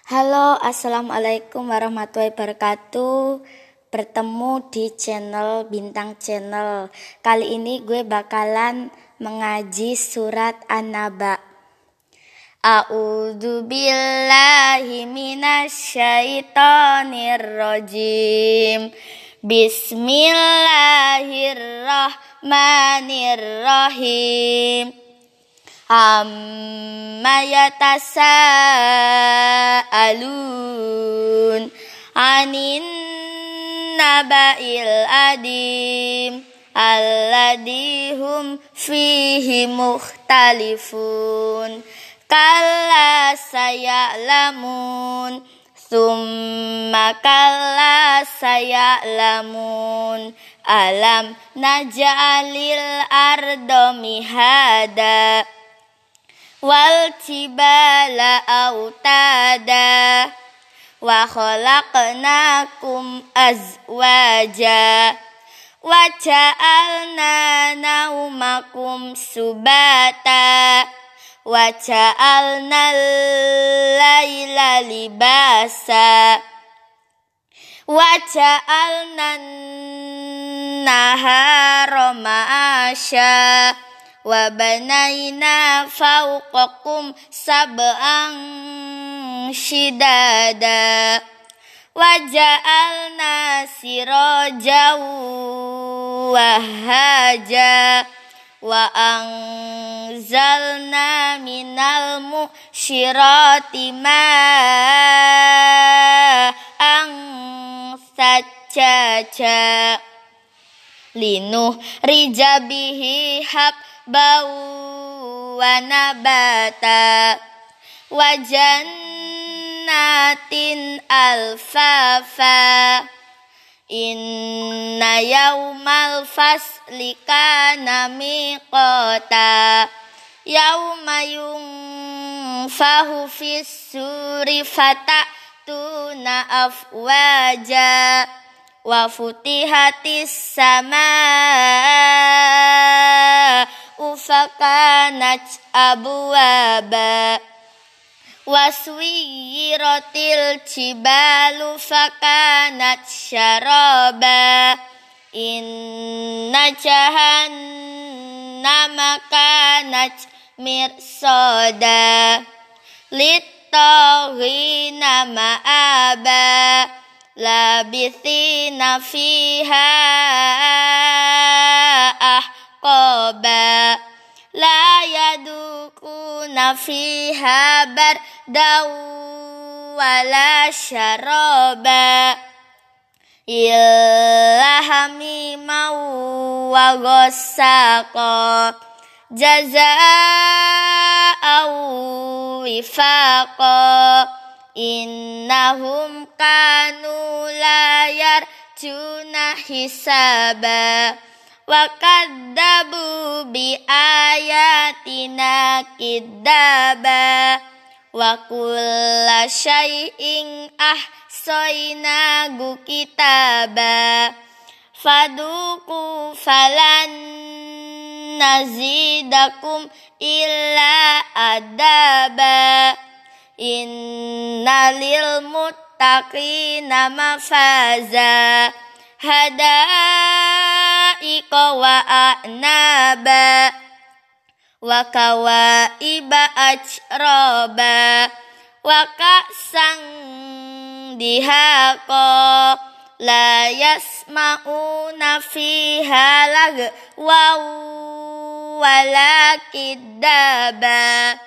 Halo, assalamualaikum warahmatullahi wabarakatuh. Bertemu di channel Bintang Channel. Kali ini gue bakalan mengaji surat An-Naba. A'udzu billahi minasyaitonir rajim. Bismillahirrahmanirrahim. Amma yatasaalun anin naba'il adim alladzi hum fihi mukhtalifun kalla saya'lamun summa kalla saya'lamun alam naj'alil arda mihada wal jibala autada wa khalaqnakum azwaja wa ja'alna naumakum subata wa ja'alna al-laila libasa wa ja'alna an-nahara ma'asya wa banaina fawqakum sab'an shidada wa ja'alna sirajan wahaja wa anzalna minal mu'syirati ma'an sajjaja linuh rijabihi bau wa nabata wa jannatin alfafa inna yaumal fasli kana miqata yauma yunfahu fis suri fatatuna afwaja wa futihatis samaa ufakanat abwaba waswiratil jibalu fakanat syaraba inna jahannama kanat mirsada littaghina ma'aba labithina fiha ahqaba la yadukuna fiha bardaw wala syaraba illa hamiman wa ghassaqa jazaa'an wifaqa innahum kanu la yarjuna hisaba wa kadzabu bi ayatina kidzaba wa kulla syai'in ahsaynahu kitaba faduku falan nazidakum illa adaba innalil muttaqina mafaza hada'iqa wa a'naba wa kawaiba ajraba wa ka'san dihaqa la yasma'una fiha lagwa wala kidzaba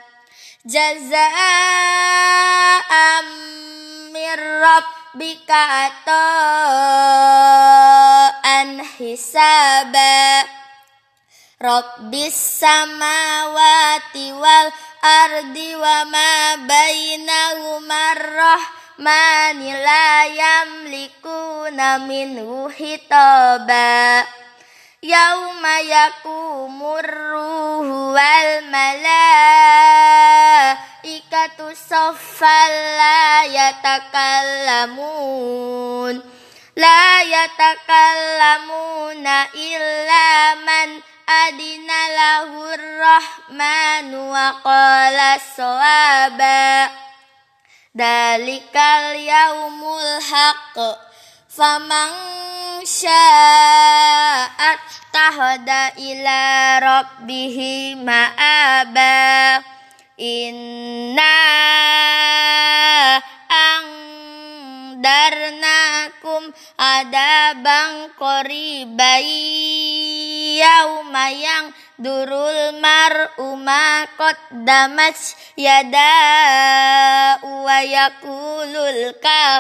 jazaa'an mir rabbika ata'an hisaba rabbis samawati wal ardi wa ma bainahuma rahmani la yamlikuna minhu hitaba yauma yakumur ruhu wal malaikatu saffan la yatakallamuna illa man adina lahur rahmanu wa qala sawaba Dalikal yaumul haq. Faman sya'at tahada ila rabbihi ma'aba. Inna angdarnakum adabang qoribai yauma yang durul mar'u ma qaddamat yada wa yakulul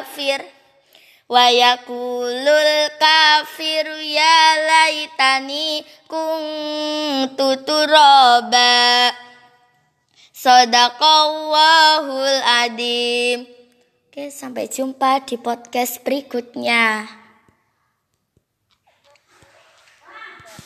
kafiru ya laitani kuntu turaba. Shadaqallahul adzim. Oke, sampai jumpa di podcast berikutnya.